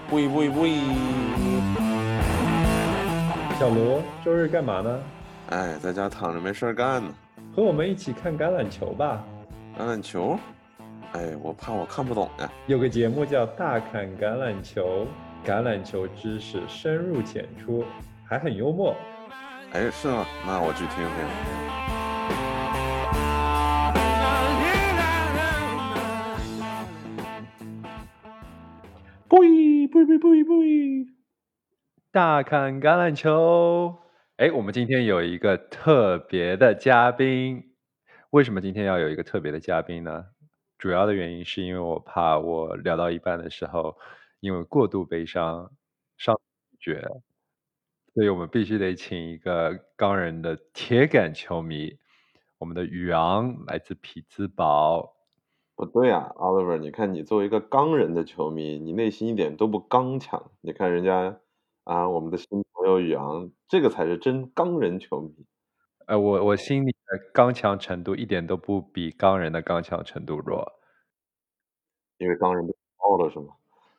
喂喂喂！ 小罗，周日干嘛呢？ 哎，在家躺着没事儿干呢。 和我们一起看橄榄球吧。 橄榄球？哎，我怕我看不懂呀。 有个节目叫《大侃橄榄球》，橄榄球知识深入浅出，还很幽默。 哎，是吗？那我去听听。 不，大侃橄榄球。哎，我们今天有一个特别的嘉宾。为什么今天要有一个特别的嘉宾呢？主要的原因是因为我怕我聊到一半的时候，因为过度悲伤，伤绝，所以我们必须得请一个钢人的铁杆球迷，我们的宇昂来自匹兹堡。 不对啊，Oliver，你看你作为一个钢人的球迷，你内心一点都不刚强。你看人家啊，我们的新朋友宇昂，这个才是真钢人球迷。 我心里的刚强程度一点都不比钢人的刚强程度弱。 因为钢人被爆了是吗？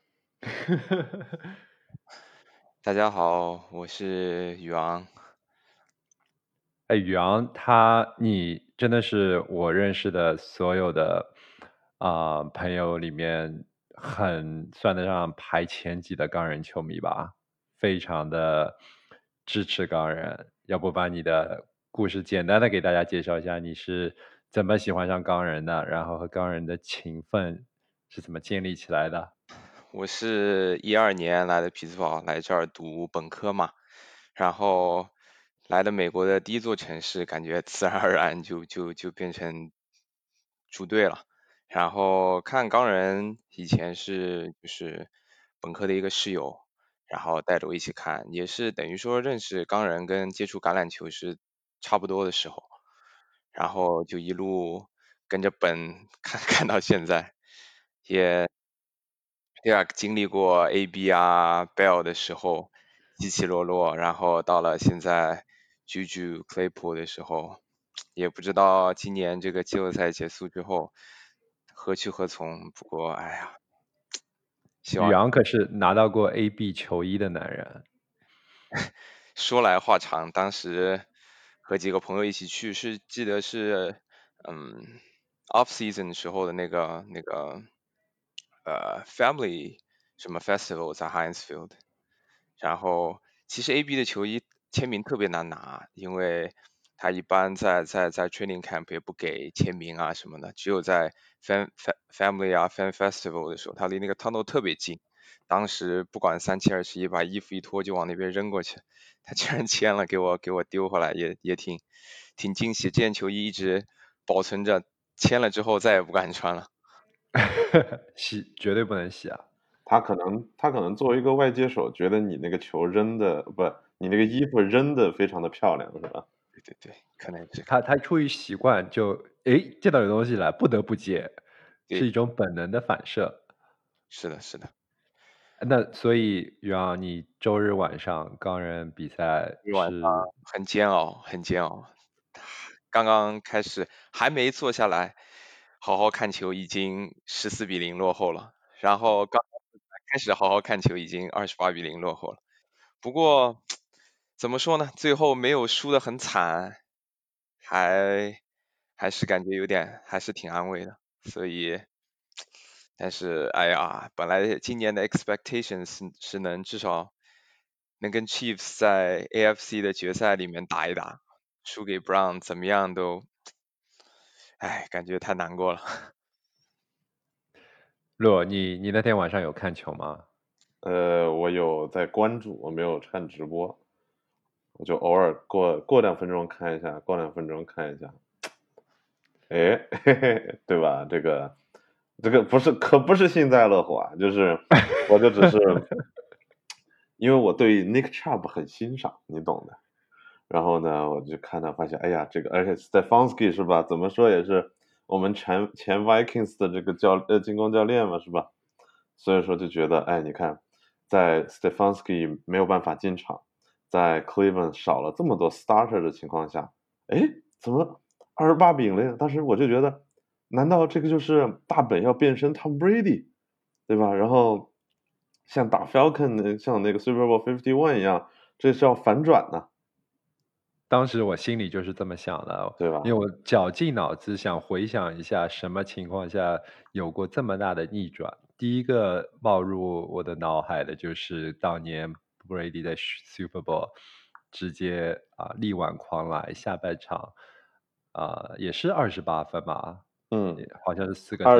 大家好，我是宇昂。 哎，宇昂，你真的是我认识的所有的朋友里面很算得上排前几的钢人球迷吧，非常的支持钢人。要不把你的故事简单的给大家介绍一下，你是怎么喜欢上钢人的，然后和钢人的情分是怎么建立起来的？ 我是12年来的匹兹堡，来这儿读本科嘛，然后来的美国的第一座城市，感觉自然而然就变成住队了。然后看钢人以前就是本科的一个室友，然后带着我一起看，也是等于说认识钢人跟接触橄榄球是差不多的时候，然后就一路跟着本看到现在，也对啊，经历过 AB 啊 Bell 的时候起起落落，然后到了现在 Juju Claypool 的时候，也不知道今年这个季后赛结束之后何去何从。不过哎呀，希望宇昂可是拿到过 AB 球衣的男人。 说来话长，当时和几个朋友一起去，记得是off season 时候的那个family 什么 festival 在 Heinz Field，然后其实 AB 的球衣签名特别难拿，因为他一般在 training camp 也不给签名啊什么的，只有在 family 啊 fan festival 的时候，他离那个 tunnel 特别近。当时不管3721，把衣服一脱就往那边扔过去，他居然签了，给我丢回来，也挺惊喜。这件球衣一直保存着，签了之后再也不敢穿了。 洗绝对不能洗啊！ 他可能作为一个外接手，觉得你那个球扔的不，你那个衣服扔的非常的漂亮，是吧？ 对对对，可能是他出于习惯就见到有东西来不得不接，是对， 一种本能的反射。 是的，是的。 那所以宇昂，你周日晚上钢人比赛一晚上是很煎熬，很煎熬。刚刚开始还没坐下来好好看球，已经14-0落后了。然后刚开始好好看球，已经28-0落后了。不过怎么说呢，最后没有输得很惨，还是感觉有点，还是挺安慰的。所以，但是哎呀，本来今年的 expectations 是能至少能跟 Chiefs 在 AFC 的决赛里面打一打，输给 Brown 怎么样都，哎，感觉太难过了。 洛，你那天晚上有看球吗？ 我有在关注，我没有看直播，我就偶尔过2分钟看一下，过2分钟看一下。哎，嘿嘿，对吧？这个可不是幸灾乐祸啊，就是我就只是因为我对 Nick Chubb 很欣赏，你懂的。然后呢，我就看他发现，哎呀，这个而且 Stefanski 是吧？怎么说也是我们前 Vikings 的这个进攻教练嘛，是吧？所以说就觉得，哎，你看，在 Stefanski 没有办法进场，在 Cleveland 少了这么多 starter 的情况下，哎，怎么28-0？当时我就觉得，难道这个就是大本要变身 Tom Brady，对吧？然后像打 Falcon 像那个 Super Bowl 51一样，这是要反转呢， 当时我心里就是这么想的， 对吧？ 因为我绞尽脑汁想回想一下什么情况下有过这么大的逆转。第一个冒入我的脑海的就是当年 Brady 在 Super Bowl 直接力挽狂澜，下半场也是28分吧， 嗯， 好像是4个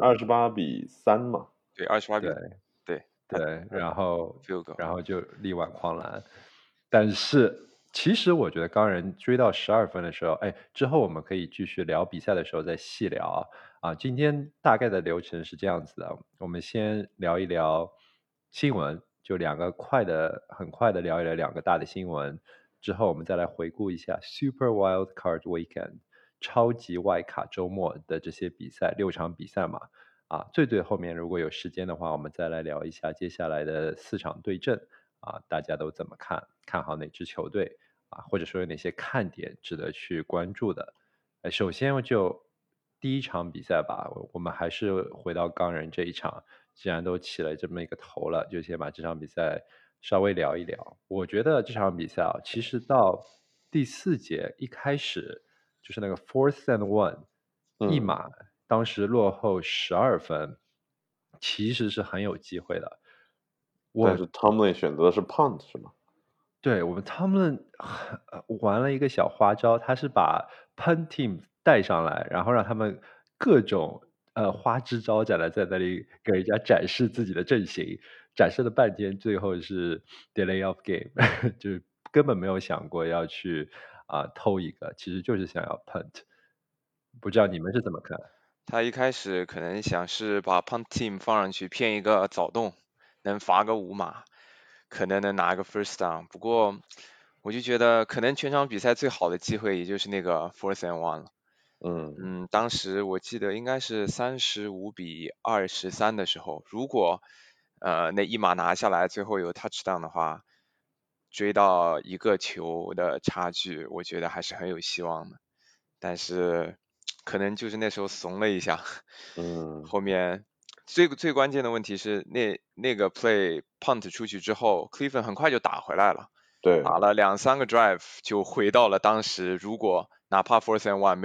28-3嘛。 对，28比对。 对他对，然后 field goal， 然后就力挽狂澜。但是其实我觉得钢人追到12分的时候，哎，之后我们可以继续聊比赛的时候再细聊今天大概的流程是这样子的，我们先聊一聊新闻，就很快的聊一聊两个大的新闻，之后我们再来回顾一下 Super Wild Card Weekend 超级外卡周末的这些比赛，6场比赛嘛。最后面如果有时间的话，我们再来聊一下接下来的4场对阵大家都怎么看？看好哪支球队或者说有哪些看点值得去关注的？首先就第一场比赛吧，我们还是回到钢人这一场，既然都起了这么一个头了，就先把这场比赛稍微聊一聊。我觉得这场比赛其实到第4节一开始就是那个 Fourth and One。一码当时落后12分，其实是很有机会的。 但是 Tomlin 选择的是 punt 是吗？ 对，我们他们玩了一个小花招，他是把 punt team 带上来，然后让他们各种花枝招展的在那里给人家展示自己的阵型，展示了半天，最后是 delay of game，就是根本没有想过要去偷一个，其实就是想要 punt。不知道你们是怎么看？ 他一开始可能想是把 punt team 放上去骗一个早动，能罚个5码，可能能拿个 first down。不过我就觉得可能全场比赛最好的机会也就是那个 fourth and one 了。当时我记得应该是35-23的时候，如果那一码拿下来，最后有 touchdown 的话，追到一个球的差距，我觉得还是很有希望的。但是可能就是那时候怂了一下，后面最关键的问题是那个 play punt 出去之后 ，Cleveland 很快就打回来了， 对， 打了2-3个 drive 就回到了当时如果哪怕 fourth and one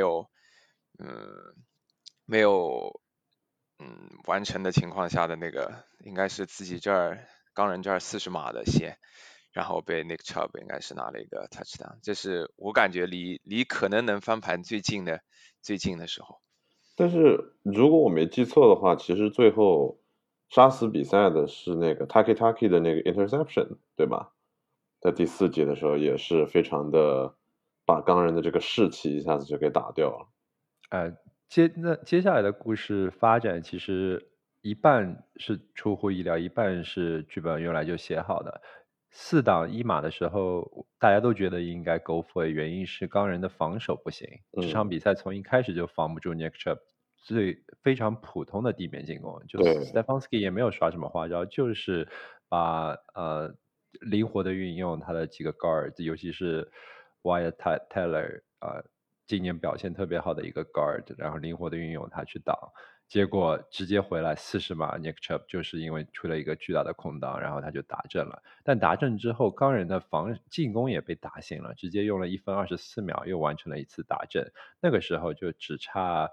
没有完成的情况下的那个，应该是自己钢人这儿40码的线。然后被 Nick Chubb 应该是拿了一个 touchdown，这是我感觉离可能能翻盘最近的时候。 但是如果我没记错的话，其实最后杀死比赛的是那个 Taki 的那个 interception，对吧？在第4节的时候也是非常的把钢人的这个士气一下子就给打掉了。 接下来的故事发展其实一半是出乎意料，一半是剧本原来就写好的。4档1码的时候，大家都觉得应该 go for it，原因是钢人的防守不行。这场比赛从一开始就防不住 Nick Chubb，非常普通的地面进攻，就对 Stefanski 也没有耍什么花招，就是把灵活的运用他的几个 guard，尤其是 Wyatt Teller 今年表现特别好的一个 guard，然后灵活的运用他去挡，结果直接回来40码 Nick Chubb 就是因为出了一个巨大的空档，然后他就打正了。但打正之后，钢人的进攻也被打醒了，直接用了1分24秒又完成了一次打正。那个时候就只差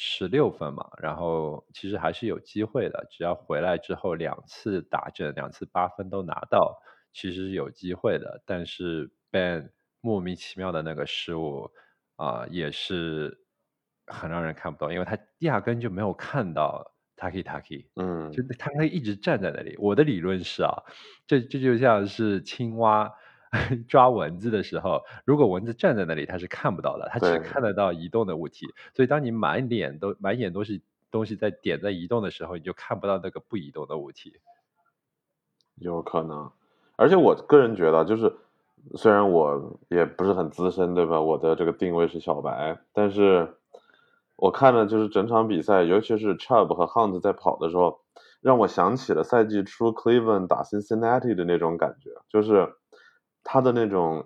16分嘛，然后其实还是有机会的，只要回来之后2次打正，2次8分都拿到，其实是有机会的。但是 Ben 莫名其妙的那个失误也是很让人看不懂，因为他压根就没有看到 Taki，就他可以一直站在那里。我的理论是这就像是青蛙抓蚊子的时候，如果蚊子站在那里，它是看不到的，它只对看得到移动的物体。所以当你满眼都是东西在移动的时候，你就看不到那个不移动的物体。 有可能，而且我个人觉得，就是虽然我也不是很资深，对吧？我的这个定位是小白，但是我看了就是整场比赛，尤其是 Chubb 和 Hunt 在跑的时候，让我想起了赛季初 Cleveland 打 Cincinnati 的那种感觉，就是他的那种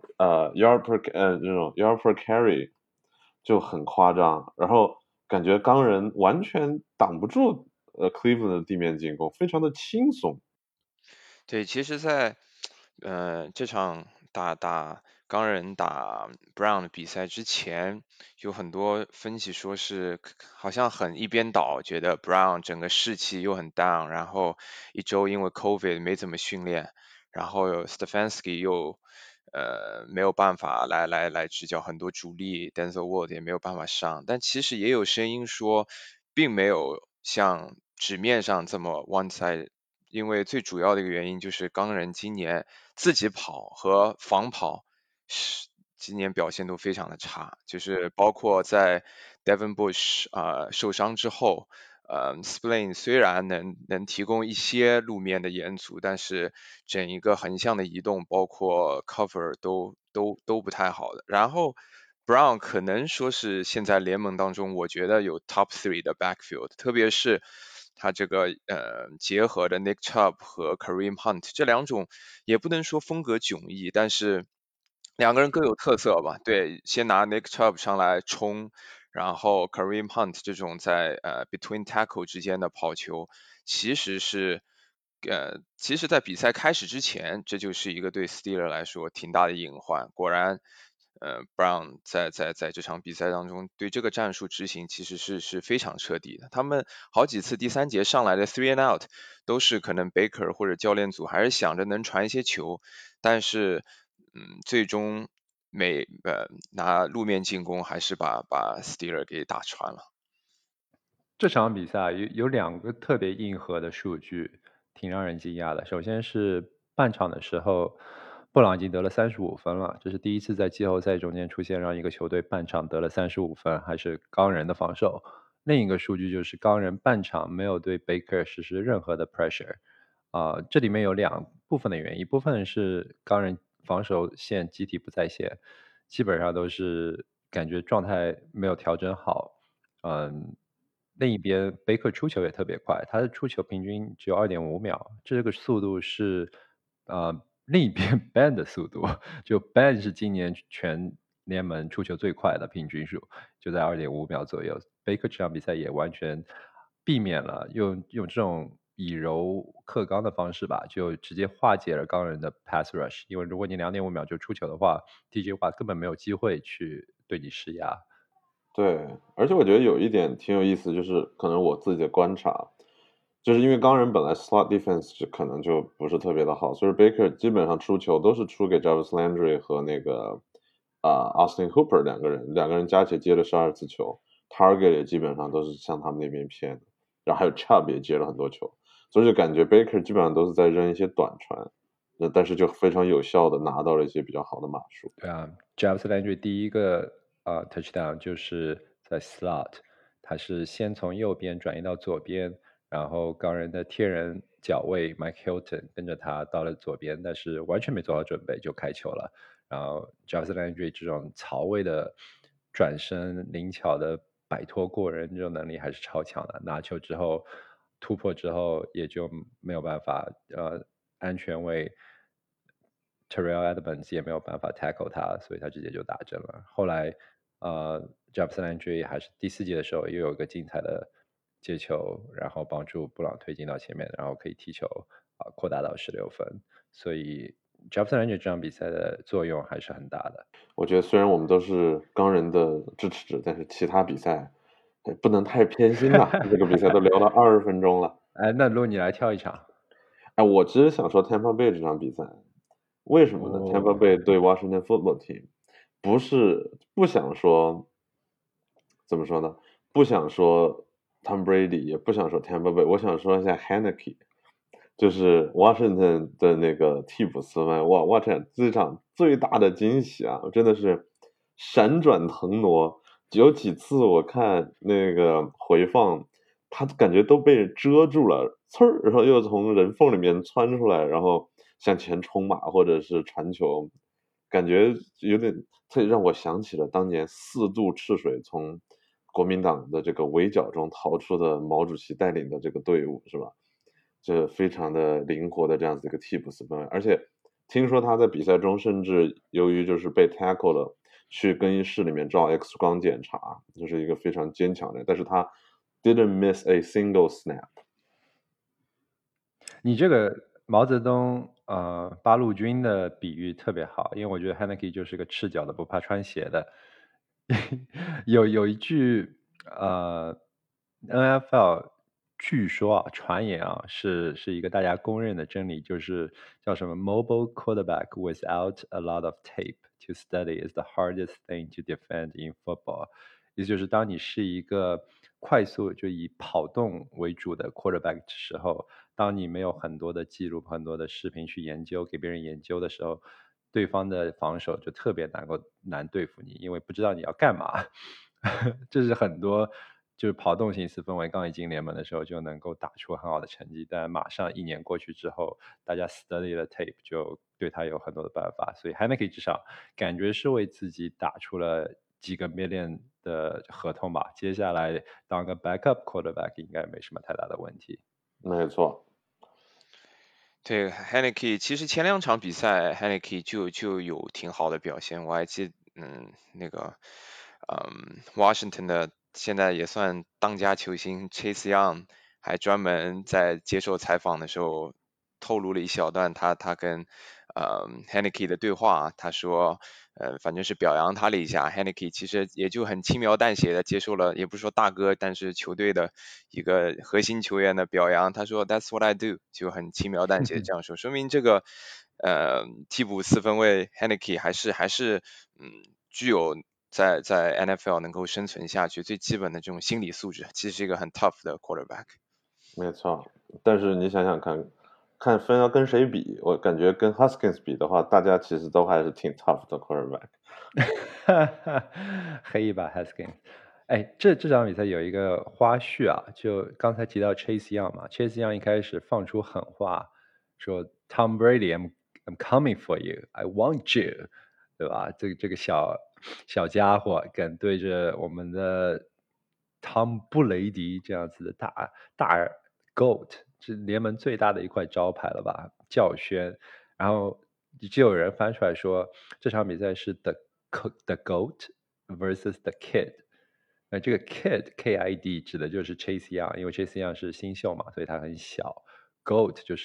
yard per carry 就很夸张，然后感觉钢人完全挡不住Cleveland 的地面进攻，非常的轻松。 对，其实在，这场钢人打 Brown 的比赛之前，有很多分析说是好像很一边倒，觉得 Brown 整个士气又很 down，然后一周因为 COVID 没怎么训练，然后 Stefanski 又没有办法来执教很多主力 Denzel Ward 也没有办法上，但其实也有声音说，并没有像纸面上这么 one side。因为最主要的一个原因就是钢人今年自己跑和防跑是今年表现都非常的差，就是包括在 Devin Bush 受伤之后，Spillane 虽然能提供一些路面的延阻，但是整一个横向的移动，包括 cover 都不太好的。然后 Brown 可能说是现在联盟当中，我觉得有 top 3的 backfield，特别是他这个结合的 Nick Chubb 和 Kareem Hunt 这两种，也不能说风格迥异，但是两个人各有特色吧。对，先拿 Nick Chubb 上来冲，然后 Kareem Hunt 这种在between tackle 之间的跑球，其实是其实在比赛开始之前，这就是一个对 Steeler 来说挺大的隐患。果然，Brown 在这场比赛当中对这个战术执行其实是非常彻底的。他们好几次第三节上来的 3 and out 都是可能 Baker 或者教练组还是想着能传一些球，但是最终拿路面进攻还是把 Steeler 给打穿了。 这场比赛有两个特别硬核的数据，挺让人惊讶的。首先是半场的时候，布朗已经得了35分了，这是第一次在季后赛中间出现让一个球队半场得了35分，还是钢人的防守。另一个数据就是钢人半场没有对 Baker 实施任何的 pressure，这里面有两部分的原因，一部分是钢人防守线集体不在线，基本上都是感觉状态没有调整好，另一边贝克出球也特别快，他的出球平均只有2.5秒，这个速度是另一边 Ben 的速度，就 Ben 是今年全联盟出球最快的平均数，就在2.5秒左右。贝克这场比赛也完全避免了用这种以柔克刚的方式吧，就直接化解了钢人的 pass rush，因为如果你2.5秒就出球的话，TJ 话根本没有机会去对你施压。 对，而且我觉得有一点挺有意思，就是可能我自己的观察，就是因为钢人本来 slot defense 可能就不是特别的好，所以 Baker 基本上出球都是出给 Jarvis Landry 和那个Austin Hooper 两个人加起来接了12次球，target 也基本上都是向他们那边偏的，然后还有 Chubb 也接了很多球，所以就感觉 Baker 基本上都是在扔一些短传，但是就非常有效的拿到了一些比较好的码数。 对啊，Jarvis Landry 第一个touchdown 就是在 slot，他是先从右边转移到左边，然后钢人的天人脚位 Mike Hilton 跟着他到了左边，但是完全没做好准备就开球了。然后 Jarvis Landry 这种槽位的转身灵巧的摆脱过人这种能力还是超强的，拿球之后突破之后也就没有办法安全为 Terrell Edmonds 也没有办法 tackle 他，所以他直接就打针了。后来Jarvis Landry 还是第4节的时候又有一个精彩的接球，然后帮助布朗推进到前面，然后可以踢球扩大到16分。所以 Jarvis Landry 这场比赛的作用还是很大的。 我觉得虽然我们都是钢人的支持者，但是其他比赛不能太偏心呐。这个比赛都聊了20分钟了。 哎，那如果你来挑一场， 哎，我其实想说 Tampa Bay 这场比赛，为什么呢？Tampa Bay 对 Washington Football Team，不是不想说，怎么说呢？不想说 Tom Brady，也不想说 Tampa Bay，我想说一下 Heineke，就是 Washington 的那个替补斯文，哇，这场最大的惊喜啊，真的是闪转腾挪，有几次我看那个回放，他感觉都被遮住了，呲儿，然后又从人缝里面窜出来，然后向前冲马或者是传球，感觉有点，这让我想起了当年4渡赤水从国民党的这个围剿中逃出的毛主席带领的这个队伍，是吧？这非常的灵活的这样子一个替补四分卫，而且听说他在比赛中甚至由于就是被 tackle 了，去更衣室里面照 X 光检查，就是一个非常坚强的人，但是他 didn't miss a single snap。 你这个毛泽东八路军的比喻特别好，因为我觉得 Heineke 就是个赤脚的不怕穿鞋的。有一句NFL 据说啊，传言啊，是一个大家公认的真理，就是叫什么 "Mobile quarterback without a lot of tape to study is the hardest thing to defend in football"。也就是当你是一个快速就以跑动为主的 quarterback 的时候，当你没有很多的记录、很多的视频去研究，给别人研究的时候，对方的防守就特别难对付你，因为不知道你要干嘛。这是很多就是跑动型四分卫刚一进联盟的时候就能够打出很好的成绩，但马上1年过去之后，大家 study 了 tape 就对他有很多的办法，所以 Heineke 至少感觉是为自己打出了几个 million 的合同吧，接下来当个 backup quarterback 应该没什么太大的问题。 没错。 对 Heineke，其实前2场比赛 Heineke 就有挺好的表现，我还记那个Washington 的现在也算当家球星 Chase Young 还专门在接受采访的时候透露了一小段他跟Heineke 的对话，他说反正是表扬他了一下 Heineke 其实也就很轻描淡写的接受了，也不是说大哥，但是球队的一个核心球员的表扬，他说 That's what I do， 就很轻描淡写这样说，说明这个替补四分卫 Heineke 还是具有在 NFL 能够生存下去最基本的这种心理素质，其实是一个很 tough 的 quarterback。 没错，但是你想想看，看分要跟谁比，我感觉跟 Haskins 比的话，大家其实都还是挺 tough 的 quarterback。 黑一把 Haskins。哎，这场比赛有一个花絮啊，就刚才提到 Chase Young 嘛，Chase Young 一开始放出狠话，说 Tom Brady，I'm coming for you，I want you，对吧？这个小家伙敢对着我们的汤布雷迪这样子的大 GOAT，是联盟最大的一块招牌了吧？叫宣，然后就有人翻出来说，这场比赛是 the GOAT versus the kid。那这个 kid 指的就是 Chase Young，因为 Chase Young 是新秀嘛，所以他很小。GOAT 就是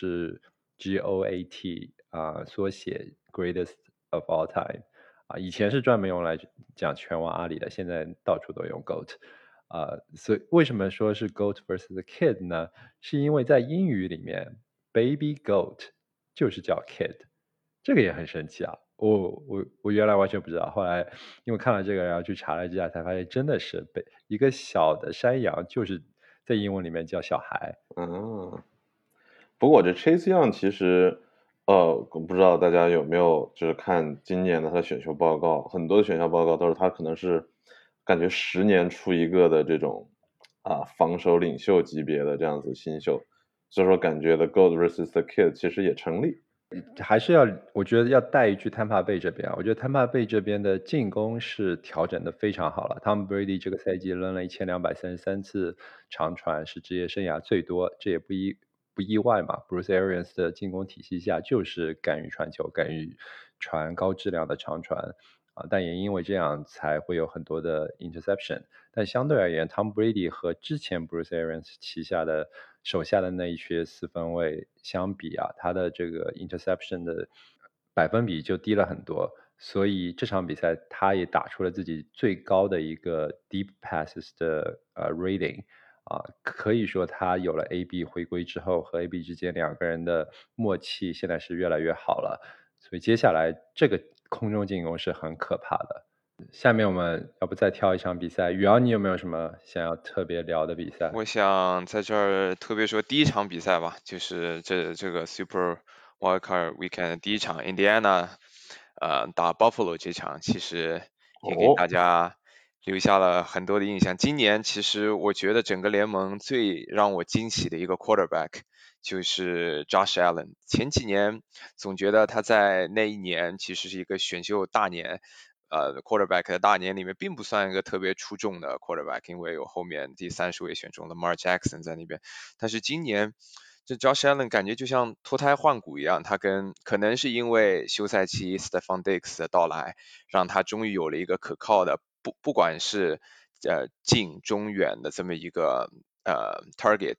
GOAT 缩写 Greatest of all time。以前是专门用来讲拳王阿里的，现在到处都用 GOAT。所以为什么说是 GOAT versus the kid 呢？是因为在英语里面 baby goat 就是叫 kid，这个也很神奇啊。我原来完全不知道，后来因为看了这个，然后去查了一下，才发现真的是一个小的山羊就是在英文里面叫小孩。 嗯，不过这 Chase Young 其实，我不知道大家有没有就是看今年的他的选秀报告，很多的选秀报告都是他可能是感觉10年出一个的这种防守领袖级别的这样子新秀，所以说感觉的 GOAT versus the kid 其实也成立。 还是我觉得要带一句 Tampa Bay 这边啊，我觉得 Tampa Bay 这边的进攻是调整的非常好了。Tom Brady 这个赛季扔了1233次长传，是职业生涯最多，这也不意外嘛。Bruce Arians 的进攻体系下就是敢于传球，敢于传高质量的长传但也因为这样才会有很多的 interception。但相对而言，Tom Brady 和之前 Bruce Arians 手下的那一些四分卫相比他的这个 interception 的百分比就低了很多。所以这场比赛他也打出了自己最高的一个 deep passes 的rating。可以说他有了 AB 回归之后，和 AB 之间两个人的默契现在是越来越好了。所以接下来这个空中进攻是很可怕的。下面我们要不再挑一场比赛？宇昂，你有没有什么想要特别聊的比赛？ 我想在这儿特别说第一场比赛吧，就是这个 Super Wildcard Weekend 第一场 Indiana 打 Buffalo 这场，其实也给大家留下了很多的印象。今年其实我觉得整个联盟最让我惊喜的一个 quarterback 就是 Josh Allen。前几年总觉得他在那一年其实是一个选秀大年。quarterback 的大年里面并不算一个特别出众的 quarterback， 因为有后面第30位选中的 Lamar Jackson 在那边。但是今年这 Josh Allen 感觉就像脱胎换骨一样，他可能是因为休赛期 Stephon Diggs 的到来，让他终于有了一个可靠的不管是近中远的这么一个target。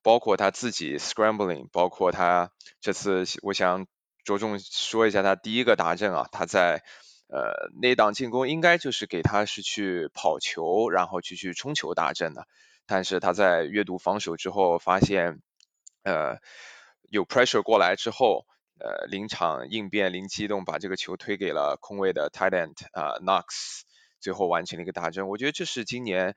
包括他自己 scrambling， 包括他这次我想着重说一下他第一个达阵啊，他在那档进攻应该就是给他是去跑球，然后去冲球达阵的，但是他在阅读防守之后发现有 pressure 过来之后，临场应变灵机一动把这个球推给了空位的 tight end Knox， 最后完成了一个达阵。我觉得这是今年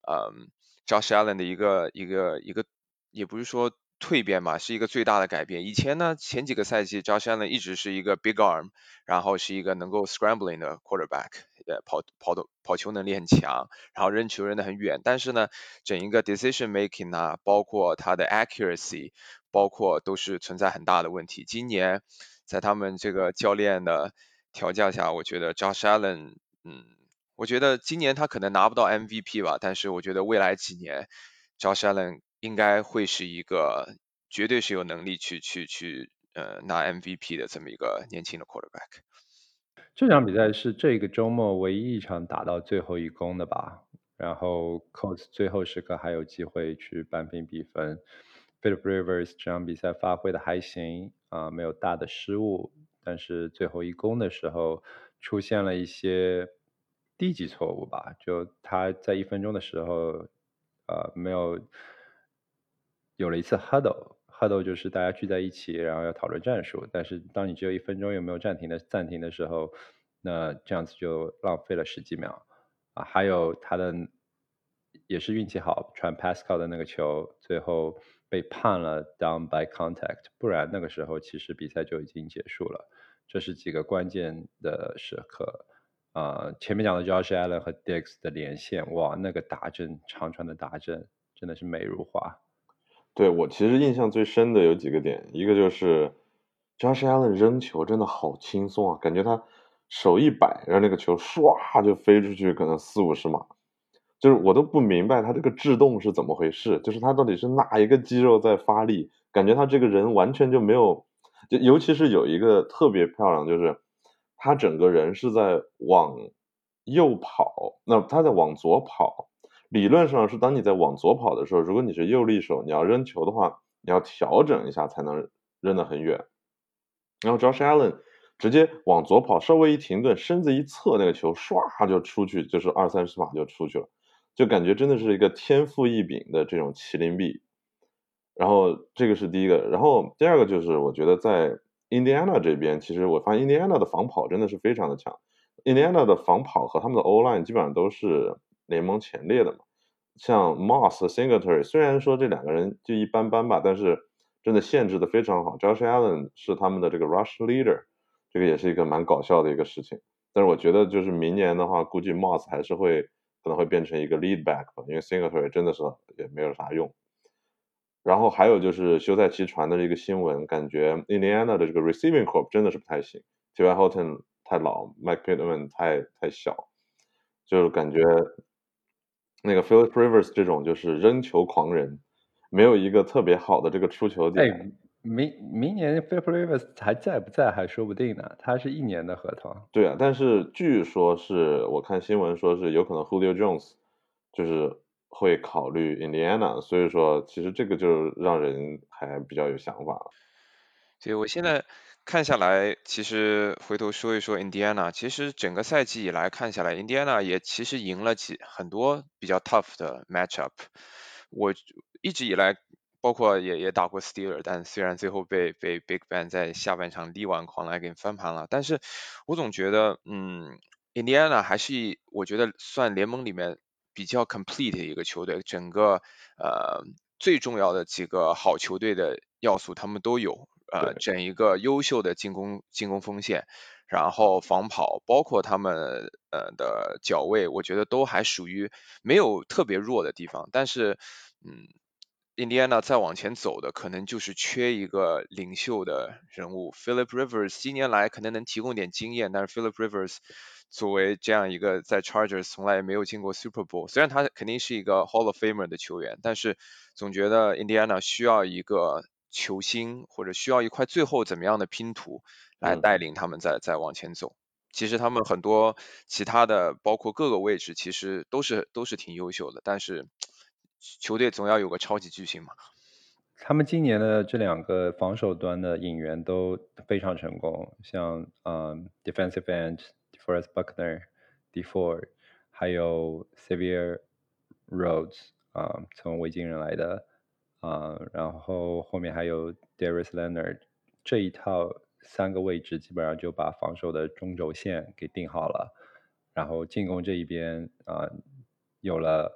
Josh Allen 的一个也不是说蜕变吧，是一个最大的改变。以前呢，前几个赛季 Josh Allen 一直是一个 big arm， 然后是一个能够 scrambling 的 quarterback， 跑球能力很强，然后扔球扔得很远。但是呢，整一个 decision making 啊，包括他的 accuracy， 包括都是存在很大的问题。今年在他们这个教练的调教下，我觉得 Josh Allen，我觉得今年他可能拿不到 MVP 吧，但是我觉得未来几年 Josh Allen 应该会是一个绝对是有能力去拿 MVP 的这么一个年轻的 quarterback。 这场比赛是这个周末唯一一场打到最后一攻的吧？然后 Colts 最后时刻还有机会去扳平比分。Philip Rivers 这场比赛发挥的还行啊，没有大的失误，但是最后一攻的时候出现了一些低级错误吧？就他在1分钟的时候，没有了一次 huddle 就是大家聚在一起，然后要讨论战术。但是当你只有1分钟又没有暂停的时候，那这样子就浪费了10几秒啊。还有他的也是运气好，传 Pascal 的那个球，最后被判了 down by contact，不然那个时候其实比赛就已经结束了。这是几个关键的时刻。前面讲的 Josh Allen 和 Diggs 的连线，哇，那个达阵长传的达阵真的是美如画。 对，我其实印象最深的有几个点，一个就是 Josh Allen 扔球真的好轻松啊，感觉他手一摆，然后那个球唰就飞出去，可能40-50码，就是我都不明白他这个制动是怎么回事，就是他到底是哪一个肌肉在发力，感觉他这个人完全就没有，就尤其是有一个特别漂亮，就是他整个人是在往右跑，那他在往左跑。理论上是当你在往左跑的时候，如果你是右利手，你要扔球的话，你要调整一下才能扔得很远。然后 Josh Allen 直接往左跑，稍微一停顿，身子一侧，那个球唰就出去，就是20-30码就出去了，就感觉真的是一个天赋异禀的这种麒麟臂。然后这个是第一个，然后第二个就是我觉得在 Indiana 这边，其实我发现 Indiana 的防跑真的是非常的强。Indiana 的防跑和他们的 O-line 基本上都是联盟前列的嘛。像 Moss 和 Singletary，虽然说这两个人就一般般吧，但是真的限制的非常好。Josh Allen 是他们的这个 rush leader，这个也是一个蛮搞笑的一个事情。但是我觉得就是明年的话，估计 Moss 还是可能会变成一个 lead back 吧，因为 Singletary 真的是也没有啥用。然后还有就是休赛期传的这个新闻，感觉 Indiana 的这个 receiving corps 真的是不太行。T.Y. Hilton 太老，Mike Pittman 太小，就是感觉那个 Philip Rivers 这种就是扔球狂人，没有一个特别好的这个出球点。 明年 Philip Rivers 还在不在还说不定呢，他是1年的合同。 对啊，但是据说是我看新闻说是有可能 Julio Jones 就是会考虑 Indiana，所以说其实这个就让人还比较有想法了。 所以我现在看下来，其实回头说一说 Indiana，其实整个赛季以来看下来，Indiana 也其实赢了很多比较 tough 的 matchup。我一直以来，包括也打过 Steeler，但虽然最后被 Big Ben 在下半场力挽狂澜给翻盘了，但是我总觉得，Indiana 还是我觉得算联盟里面比较 complete 的一个球队，整个最重要的几个好球队的要素他们都有。整一个优秀的进攻锋线，然后防跑，包括他们的脚位，我觉得都还属于没有特别弱的地方。但是，印第安纳再往前走的，可能就是缺一个领袖的人物。Philip Rivers 今年来可能能提供点经验，但是 Philip Rivers 作为这样一个在 Chargers 从来没有进过 Super Bowl，虽然他肯定是一个 Hall of Famer 的球员，但是总觉得印第安纳需要一个球星，或者需要一块最后怎么样的拼图来带领他们再往前走。其实他们很多其他的，包括各个位置，其实都是挺优秀的，但是球队总要有个超级巨星嘛。 他们今年的这两个防守端的引援都非常成功，像defensive end DeForest Buckner、D Ford，还有 Xavier Rhodes 从维京人来的然后后面还有 Darius Leonard，这一套三个位置基本上就把防守的中轴线给定好了。然后进攻这一边有了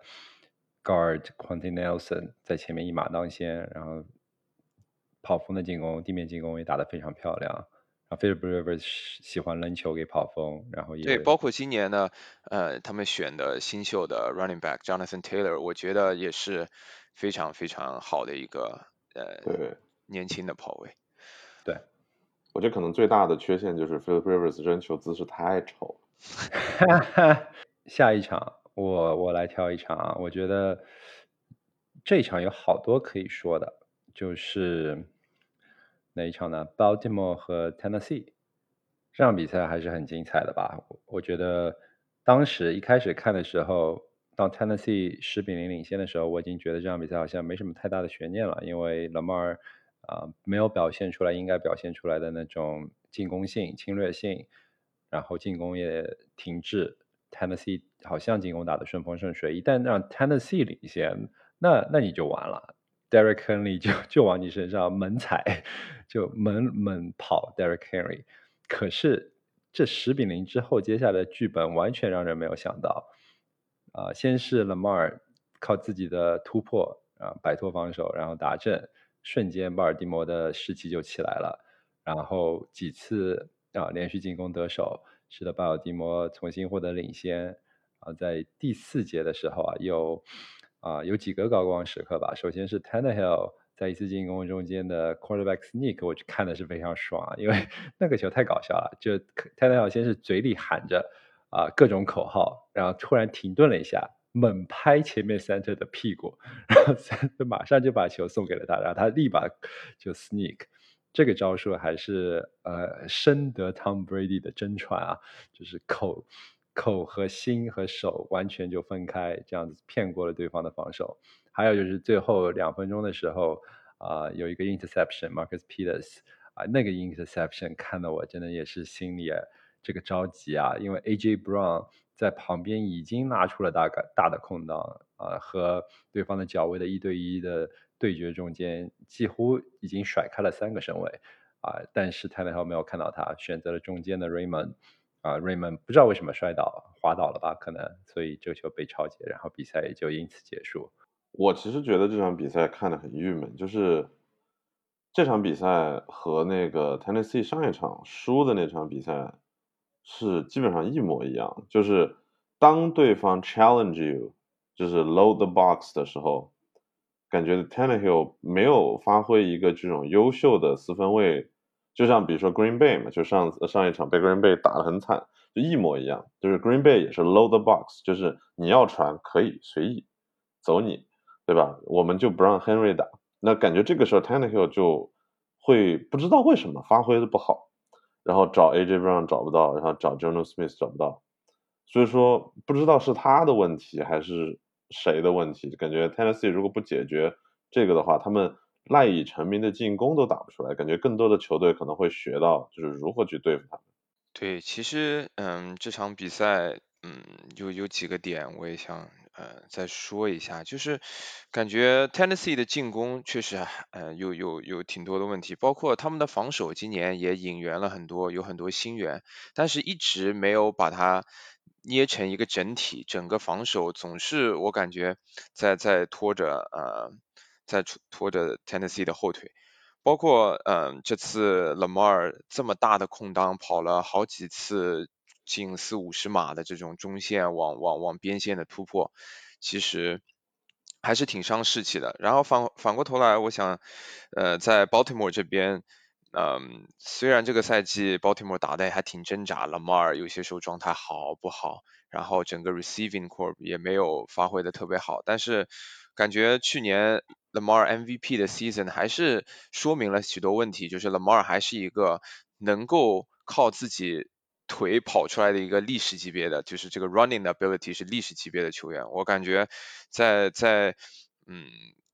guard Quentin Nelson 在前面一马当先，然后跑锋的进攻、地面进攻也打得非常漂亮。然后 Philip Rivers 喜欢扔球给跑锋，然后对， 也包括今年呢，他们选的新秀的 running back Jonathan Taylor，我觉得也是非常非常好的一个对， 年轻的跑位。 对， 我觉得可能最大的缺陷就是 Philip Rivers 扔球姿势太丑了。 下一场我来挑一场啊，我觉得这一场有好多可以说的，就是哪一场呢？Baltimore 和 Tennessee 这场比赛还是很精彩的吧？我觉得当时一开始看的时候，当 Tennessee 10-0领先的时候，我已经觉得这场比赛好像没什么太大的悬念了，因为 Lamar 没有表现出来应该表现出来的那种进攻性、侵略性，然后进攻也停滞。Tennessee 好像进攻打得顺风顺水，一旦让 Tennessee 领先，那你就完了。Derrick Henry 就往你身上猛踩，就猛跑 Derrick Henry。可是这10-0之后，接下来的剧本完全让人没有想到。先是 Lamar 靠自己的突破摆脱防守，然后打正，瞬间巴尔的摩的士气就起来了。然后几次连续进攻得手，使得巴尔的摩重新获得领先。在第4节的时候有几个高光时刻吧。首先是 Tannehill 在一次进攻中间的 quarterback sneak， 我看的是非常爽因为那个球太搞笑了。就 Tannehill 先是嘴里喊着各种口号，然后突然停顿了一下，猛拍前面 center 的屁股，然后 center 马上就把球送给了他，然后他立马就 sneak。这个招数还是深得 Tom Brady 的真传啊，就是口和心和手完全就分开，这样子骗过了对方的防守。还有就是最后2分钟的时候有一个 interception Marcus Peters 那个 interception 看得我真的也是心里这个着急啊，因为 AJ Brown 在旁边已经拉出了大的空档和对方的脚位的1对1的对决中间几乎已经甩开了3个身位但是 Tannehill 没有看到他，选择了中间的 Raymond。Raymond 不知道为什么滑倒了吧，可能，所以这个球被抄截，然后比赛也就因此结束。 我其实觉得这场比赛看得很郁闷，就是这场比赛和那个 Tennessee 上一场输的那场比赛是基本上一模一样，就是当对方 challenge you， 就是 load the box 的时候，感觉 Tannehill 没有发挥一个这种优秀的四分卫，就像比如说 Green Bay 嘛，就上一场被 Green Bay 打得很惨，就一模一样，就是 Green Bay 也是 load the box， 就是你要传可以随意走你，对吧？我们就不让 Henry 打。那感觉这个时候 Tannehill 就会不知道为什么发挥的不好，然后找 AJ Brown 找不到，然后找 Jonnu Smith 找不到，所以说不知道是他的问题还是谁的问题，感觉 Tennessee 如果不解决这个的话，他们赖以成名的进攻都打不出来，感觉更多的球队可能会学到就是如何去对付他们。 对，其实这场比赛有几个点我也想再说一下，就是感觉 Tennessee 的进攻确实有挺多的问题，包括他们的防守今年也引援了很多，有很多新援，但是一直没有把它捏成一个整体，整个防守总是我感觉在拖着拖着 Tennessee 的后腿。包括这次 Lamar 这么大的空档跑了好几次近40-50码的这种中线往边线的突破，其实还是挺伤士气的。然后反过头来，我想在 Baltimore 这边，虽然这个赛季 Baltimore 打的还挺挣扎，Lamar 有些时候状态好不好，然后整个 receiving corps 也没有发挥的特别好，但是感觉去年 Lamar MVP 的 season 还是说明了许多问题，就是 Lamar 还是一个能够靠自己腿跑出来的一个历史级别的，就是这个 running ability 是历史级别的球员。我感觉在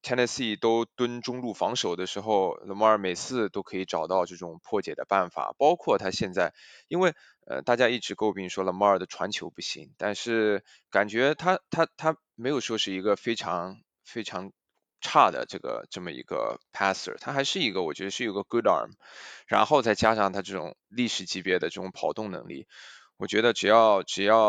Tennessee 都蹲中路防守的时候，Lamar 每次都可以找到这种破解的办法，包括他现在，因为大家一直诟病说 Lamar 的传球不行，但是感觉他没有说是一个非常差的这么一个 passer， 他还是一个我觉得是有个 good arm， 然后再加上他这种历史级别的这种跑动能力，我觉得只要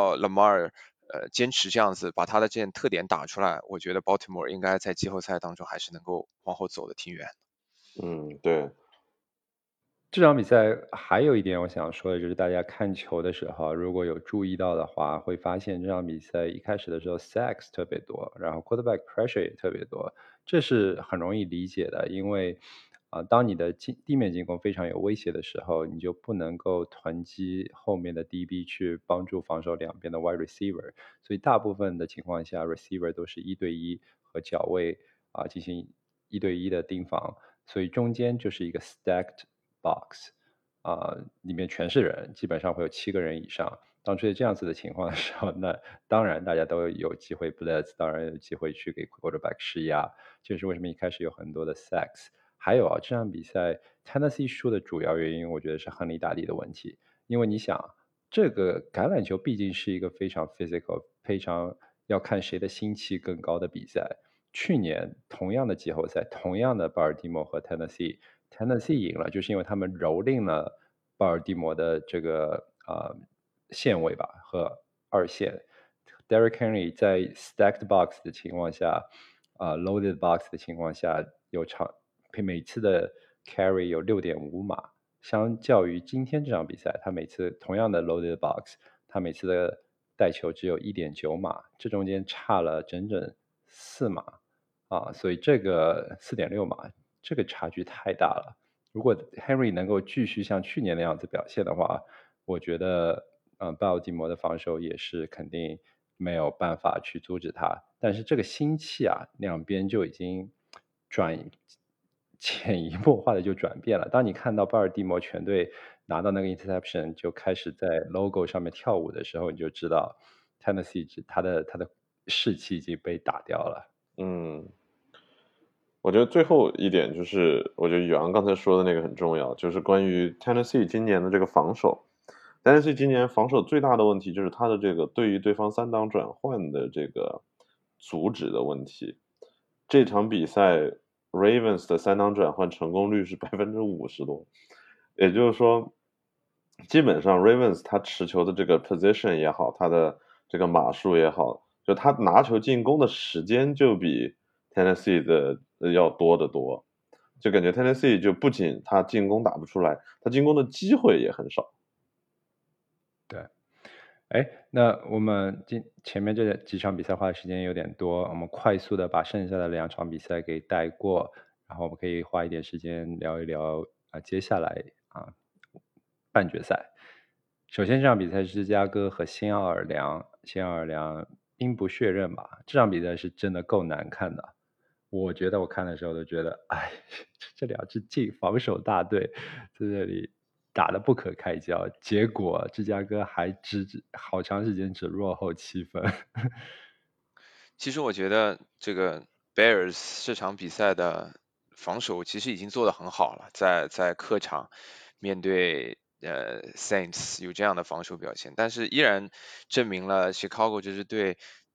Lamar 坚持这样子把他的这些特点打出来，我觉得 Baltimore 应该在季后赛当中还是能够往后走的挺远。 对。 这场比赛还有一点我想说的就是，大家看球的时候，如果有注意到的话，会发现这场比赛一开始的时候 sacks 特别多，然后 quarterback pressure 也特别多，这是很容易理解的，因为当你的地面进攻非常有威胁的时候，你就不能够囤积后面的 DB 去帮助防守两边的 wide receiver，所以大部分的情况下 receiver 都是1对1和脚位进行1对1的盯防，所以中间就是一个 stacked box 里面全是人，基本上会有7个人以上。当出现这样子的情况的时候，那当然大家都有机会 blitz，当然有机会去给 quarterback 施压，这是为什么一开始有很多的 sacks。还有这场比赛 Tennessee 输的主要原因，我觉得是亨利大帝的问题，因为你想，这个橄榄球毕竟是一个非常 physical、非常要看谁的心气更高的比赛。去年同样的季后赛，同样的巴尔的摩和 Tennessee 赢了，就是因为他们蹂躏了巴尔的摩的这个线位吧和二线。Derrick Henry 在 stacked box 的情况下，loaded box 的情况下，每次的 carry 有6.5码，相较于今天这场比赛，他每次同样的 loaded box，他每次的带球只有1.9码，这中间差了整整4码。所以这个4.6码，这个差距太大了。如果 Henry 能够继续像去年那样子表现的话，我觉得，巴尔的摩的防守也是肯定没有办法去阻止他。但是这个心气两边就已经潜移默化的就转变了。当你看到巴尔的摩全队拿到那个 interception 就开始在 logo 上面跳舞的时候，你就知道 Tennessee 他的士气已经被打掉了。 我觉得最后一点就是，我觉得宇昂刚才说的那个很重要，就是关于 Tennessee 今年的这个防守。Tennessee 今年防守最大的问题就是他的这个对于对方3档转换的这个阻止的问题。这场比赛 Ravens 的3档转换成功率是50%多，也就是说，基本上 Ravens 他持球的这个 position 也好，他的这个码数也好，就他拿球进攻的时间就比 Tennessee 的要多得多，就感觉 Tennessee 就不仅他进攻打不出来，他进攻的机会也很少。 对，那我们前面这几场比赛花的时间有点多，我们快速的把剩下的2场比赛给带过，然后我们可以花一点时间聊一聊接下来半决赛。首先这场比赛是芝加哥和新奥尔良兵不血刃吧，这场比赛是真的够难看的。我觉得我看的时候都觉得，这2支防守大队在这里打得不可开交，结果芝加哥还好长时间只落后7分。 其实我觉得这个 Bears 这场比赛的防守其实已经做得很好了，在客场面对Saints 有这样的防守表现，但是依然证明了 Chicago 这支队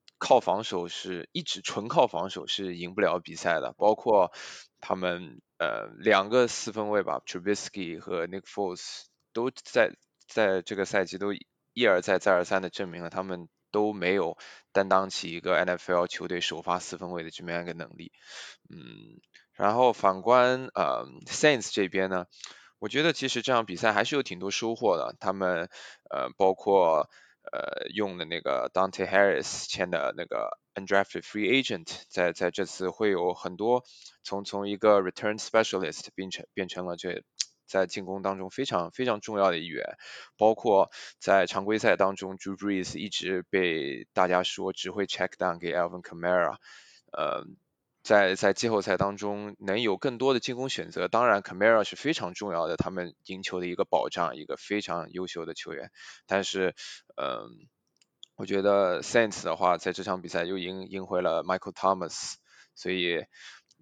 纯靠防守是赢不了比赛的，包括他们2个四分卫吧 Trubisky 和 Nick Foles 都在这个赛季都一而再再而三的证明了他们都没有担当起一个 NFL 球队首发四分卫的这么样一个能力。然后反观Saints 这边呢，我觉得其实这场比赛还是有挺多收获的，他们包括用的那个 Dante Harris 签的那个 undrafted free agent， 在这次会有很多从一个 return specialist 变成了在进攻当中非常非常重要的一员，包括在常规赛当中 Drew Brees 一直被大家说只会 check down 给 Alvin Kamara，在季后赛当中能有更多的进攻选择，当然 Kamara 是非常重要的，他们赢球的一个保障，一个非常优秀的球员。但是，我觉得 Saints 的话，在这场比赛又赢回了 Michael Thomas，所以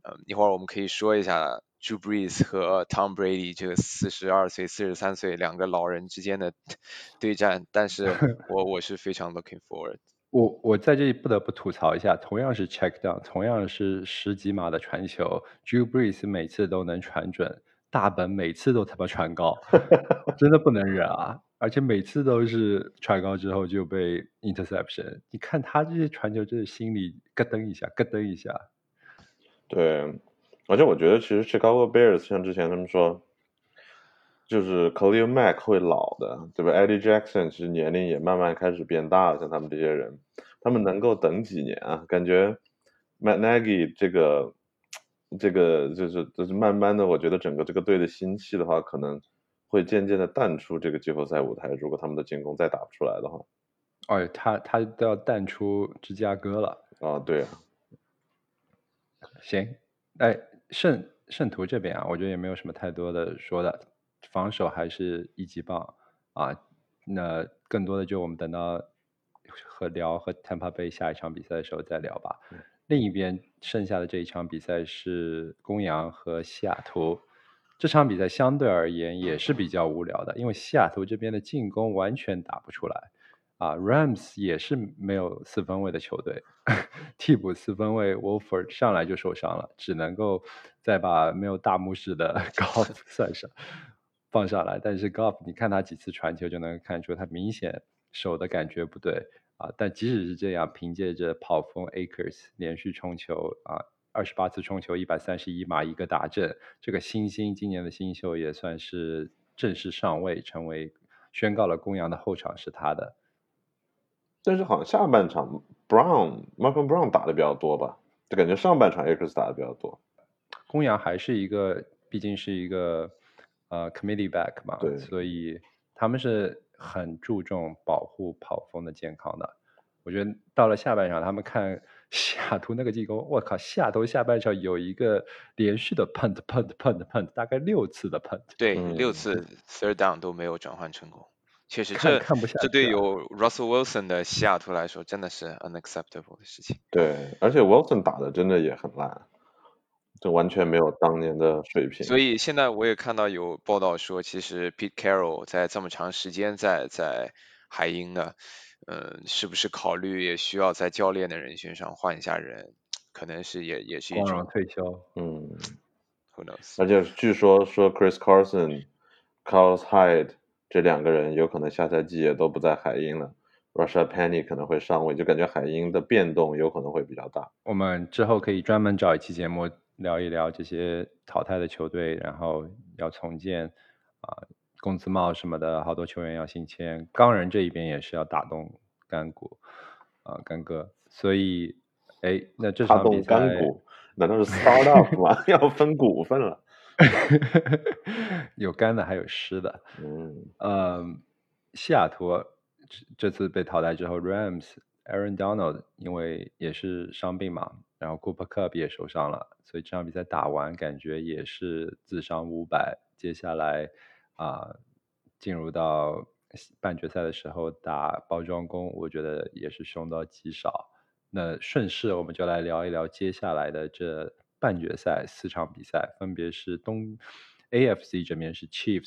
一会儿我们可以说一下 Drew Brees 和 Tom Brady 这个42岁、43岁两个老人之间的对战，但是我是非常 looking forward。 我在这里不得不吐槽一下，同样是 check down，同样是10几码的传球，Drew Brees 每次都能传准，大本每次都他妈传高，真的不能忍啊！而且每次都是传高之后就被 interception，你看他这些传球，真是心里咯噔一下，咯噔一下。 对，而且我觉得其实 Chicago Bears 像之前他们说，就是 Khalil Mack 会老的，对吧？Eddie Jackson 其实年龄也慢慢开始变大了，像他们这些人，他们能够等几年啊？感觉 Matt Nagy 这个就是慢慢的，我觉得整个这个队的心气的话，可能会渐渐的淡出这个季后赛舞台。如果他们的进攻再打不出来的话， 哦，他都要淡出芝加哥了。 啊，对啊， 行，哎，圣徒这边啊，我觉得也没有什么太多的说的，防守还是一级棒啊。那更多的就我们等到和 Tampa Bay 下一场比赛的时候再聊吧。另一边剩下的这一场比赛是公羊和西雅图，这场比赛相对而言也是比较无聊的，因为西雅图这边的进攻完全打不出来。Rams 也是没有四分卫的球队，替补四分卫 Wolford 上来就受伤了，只能够再把没有大拇指的 Goff 放上来。但是 Goff 你看他几次传球就能看出他明显手的感觉不对啊。但即使是这样，凭借着跑锋 Akers 连续冲球28次冲球131码一个打阵，这个新星今年的新秀也算是正式上位，宣告了公羊的后场是他的。 但是好像下半场 Malcolm Brown 打的比较多吧，就感觉上半场 Akers 打的比较多。 公羊还是毕竟是一个committee back 嘛， 对， 所以他们是很注重保护跑锋的健康的。我觉得到了下半场，他们看西雅图那个进攻，我靠，西雅图下半场有一个连续的 punt，大概6次的 punt。 对，6次 third down 都没有转换成功。确实， 看不下去。 这对有 Russell Wilson 的西雅图来说，真的是 unacceptable 的事情。 对，而且 Wilson 打的真的也很烂，这完全没有当年的水平。 所以现在我也看到有报道说，其实 Pete Carroll 在这么长时间在海鹰呢，是不是考虑也需要在教练的人选上换一下人？可能是也是一光荣种退休。 Who knows？ 而且据说 Chris Carson、Carlos Hyde 这两个人有可能下赛季也都不在海鹰了。Rashad Penny 可能会上位，就感觉海鹰的变动有可能会比较大。 我们之后可以专门找一期节目聊一聊这些淘汰的球队，然后要重建工资帽什么的，好多球员要新签。钢人这一边也是要打动干哥，所以那这场比赛打动干股难道是 startup 吗？要分股份了？ 有干的还有湿的。西雅图这次被淘汰之后 ，Rams Aaron Donald 因为也是伤病嘛，然后 Cooper Kupp 也受伤了，所以这场比赛打完感觉也是自伤500。接下来进入到半决赛的时候打包装工，我觉得也是凶到极少。那顺势我们就来聊一聊接下来的这半决赛4场比赛，分别是AFC 这边是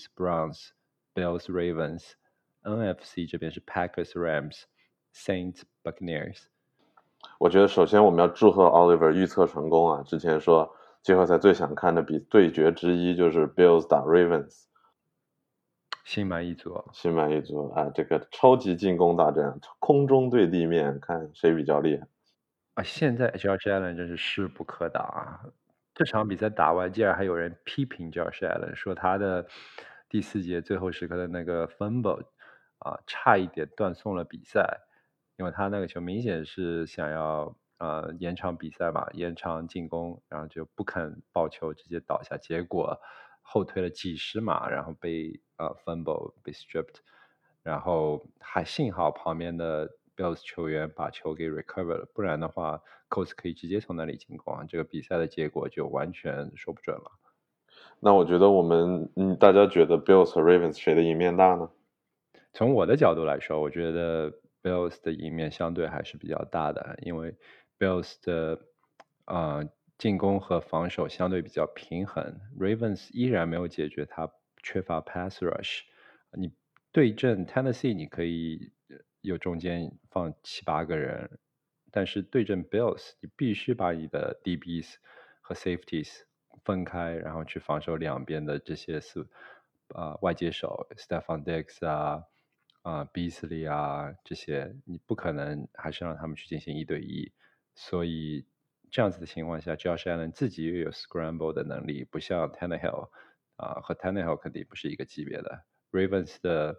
Chiefs、Browns、Bills、Ravens。NFC 这边是 Packers、Rams、Saints、Buccaneers。 我觉得首先我们要祝贺 Oliver 预测成功啊！之前说季后赛最想看的对决之一就是 Bills 打 Ravens， 心满意足。 心满意足啊！这个超级进攻大战，空中对地面，看谁比较厉害。 现在 Josh Allen 真是势不可挡啊！这场比赛打完，竟然还有人批评 Josh Allen，说他的第4节最后时刻的那个 fumble 差一点断送了比赛，因为他那个球明显是想要延长比赛嘛，延长进攻，然后就不肯抱球，直接倒下，结果后退了几十码，然后被fumble 被 stripped， 然后还幸好旁边的 Bills 球员把球给 recover 了，不然的话 Colts 可以直接从那里进攻，这个比赛的结果就完全说不准了。 那我觉得大家觉得 Bills 和 Ravens 谁的赢面大呢？ 从我的角度来说，我觉得 Bills 的赢面相对还是比较大的，因为 Bills 的进攻和防守相对比较平衡。Ravens 依然没有解决他缺乏 pass rush。你对阵 Tennessee，你可以有中间放7、8个人，但是对阵 Bills，你必须把你的 DBs 和 safeties 分开，然后去防守两边的这些外接手 Stephon Diggs Beasley 这些，你不可能还是让他们去进行1对1。所以这样子的情况下，Josh Allen 自己又有 scramble 的能力，不像 Tannehill 和 Tannehill 肯定不是一个级别的。Ravens 的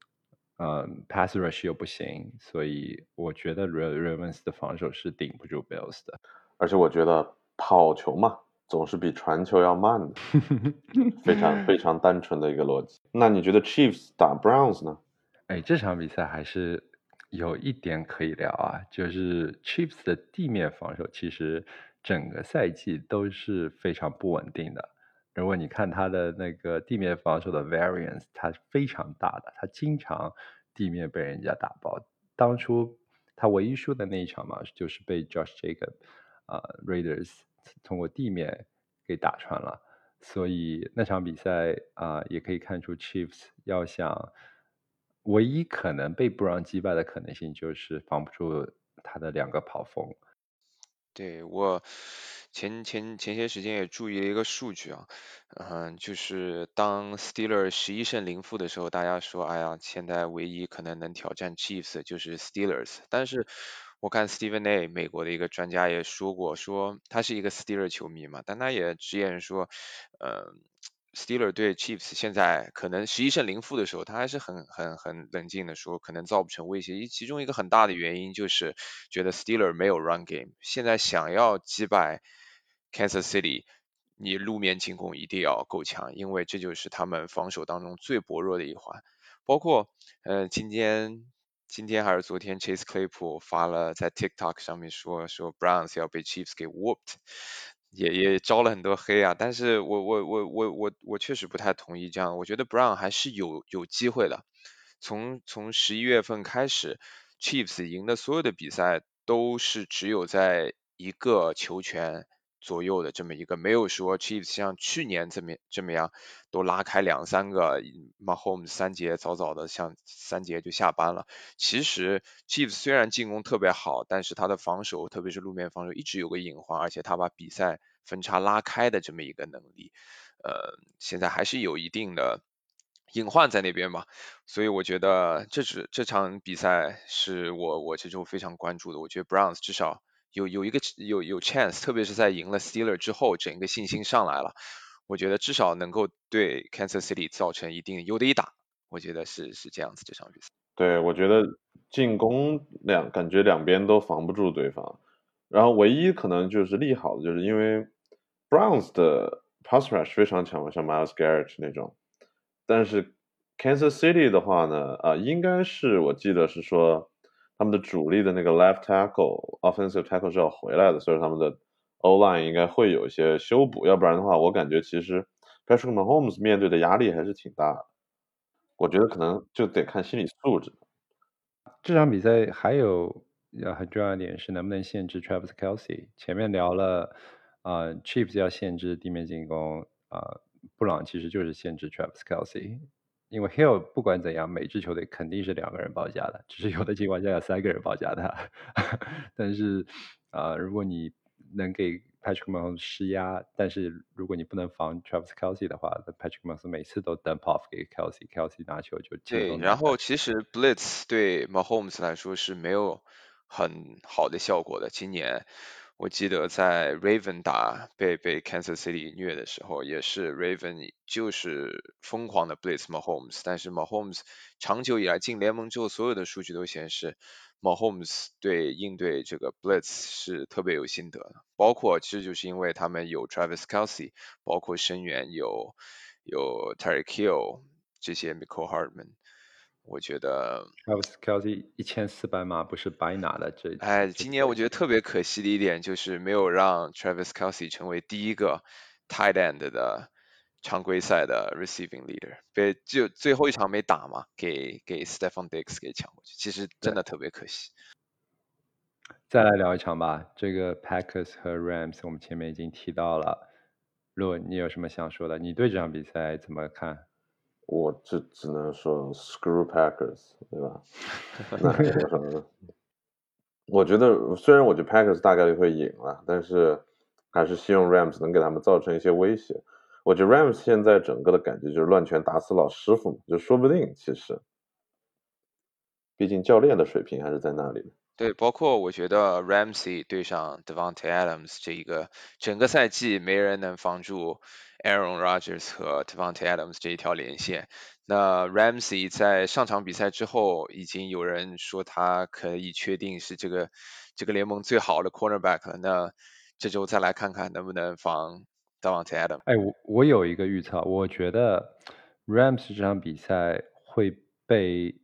pass rush 又不行，所以我觉得 Ravens 的防守是顶不住 Bills 的。 而且我觉得跑球嘛，总是比传球要慢的，非常非常单纯的一个逻辑。那你觉得 Chiefs 打 Browns 呢？ 哎，这场比赛还是有一点可以聊就是 Chiefs 的地面防守其实整个赛季都是非常不稳定的。如果你看他的那个地面防守的 variance，它是非常大的，他经常地面被人家打爆。当初他唯一输的那一场嘛，就是被 Josh Jacob Raiders 通过地面给打穿了。所以那场比赛也可以看出 Chiefs 要想唯一可能被布朗击败的可能性就是防不住他的2个跑锋。 对，我前些时间也注意了一个数据就是当 Steelers 11胜0负的时候，大家说，哎呀，现在唯一可能能挑战 Chiefs 的就是 Steelers。但是我看 Stephen A 美国的一个专家也说过，说他是一个 Steelers 球迷嘛，但他也直言说，Steelers 对 Chiefs 现在可能11胜0负的时候，他还是很冷静的说，可能造不成威胁。其中一个很大的原因就是觉得 Steelers 没有 run game，现在想要击败 Kansas City，你路面进攻一定要够强，因为这就是他们防守当中最薄弱的一环。包括今天还是昨天 ，Chase Claypool 发了在 TikTok 上面说 Browns 要被 Chiefs 给 whooped，也招了很多黑但是我确实不太同意这样，我觉得 Brown 还是有机会的。从11月份开始，Chiefs 赢的所有的比赛都是只有在1个球权左右的这么一个，没有说 Chiefs 像去年这么样都拉开2、3个，Mahomes 3节早早的像3节就下班了。其实 Chiefs 虽然进攻特别好，但是他的防守，特别是路面防守一直有个隐患，而且他把比赛分差拉开的这么一个能力，现在还是有一定的隐患在那边吧。所以我觉得这场比赛是我这周非常关注的。我觉得 Browns 至少有 chance，特别是在赢了 Steelers 之后，整个信心上来了。我觉得至少能够对 Kansas City 造成一定有的一打。我觉得是这样子这场比赛。 对，我觉得进攻感觉两边都防不住对方，然后唯一可能就是利好的，就是因为 Browns 的 pass rush 非常强嘛，像 Myles Garrett 那种，但是 Kansas City 的话呢，应该是我记得是说他们的主力的那个 left tackle offensive tackle 是要回来的，所以他们的 O line 应该会有一些修补，要不然的话，我感觉其实 Patrick Mahomes 面对的压力还是挺大的。我觉得可能就得看心理素质。 这场比赛还有很重要一点是能不能限制 Travis Kelce。前面聊了Chiefs 要限制地面进攻布朗其实就是限制 Travis Kelce。因为 Hill 不管怎样，每支球队肯定是2个人包夹的，只是有的情况下有3个人包夹他。但是如果你能给 Patrick Mahomes 施压，但是如果你不能防 Travis Kelce 的话，那 Patrick Mahomes 每次都 dump off 给 Kelce 拿球就轻对， 松拿下。 然后其实 Blitz 对 Mahomes 来说是没有很好的效果的。今年我记得在 Raven 被 Kansas City 虐的时候，也是 Raven 就是疯狂的 Blitz Mahomes，但是 Mahomes 长久以来进联盟之后，所有的数据都显示 Mahomes 应对这个 Blitz 是特别有心得的，包括其实就是因为他们有 Travis Kelce，包括声援有 Tyreek Hill。这些 Mecole Hardman，我觉得， Travis Kelce 1400码不是白拿的， 今年我觉得特别可惜的一点就是没有让 Travis Kelce 成为第一个 tight end 的常规赛的 receiving leader，就最后一场没打嘛，给 Stephon Diggs 给抢过去，其实真的特别可惜。 再来聊一场吧，这个 Packers 和 Rams 我们前面已经提到了。洛，你有什么想说的？你对这场比赛怎么看？ 我只能说 Screw Packers，对吧？那还有什么？我觉得虽然我觉得 Packers 大概率会赢了，但是还是希望 Rams 能给他们造成一些威胁。我觉得 Rams 现在整个的感觉就是乱拳打死老师傅嘛，就说不定其实，毕竟教练的水平还是在那里的。 对，包括我觉得 Ramsey 对上 Devontae Adams 这一个整个赛季没人能防住 Aaron Rodgers 和 Devontae Adams 这一条连线。那 Ramsey 在上场比赛之后，已经有人说他可以确定是这个联盟最好的 cornerback 了。那这周再来看看能不能防 Devontae Adams。 哎，我有一个预测，我觉得 Rams 这场比赛会被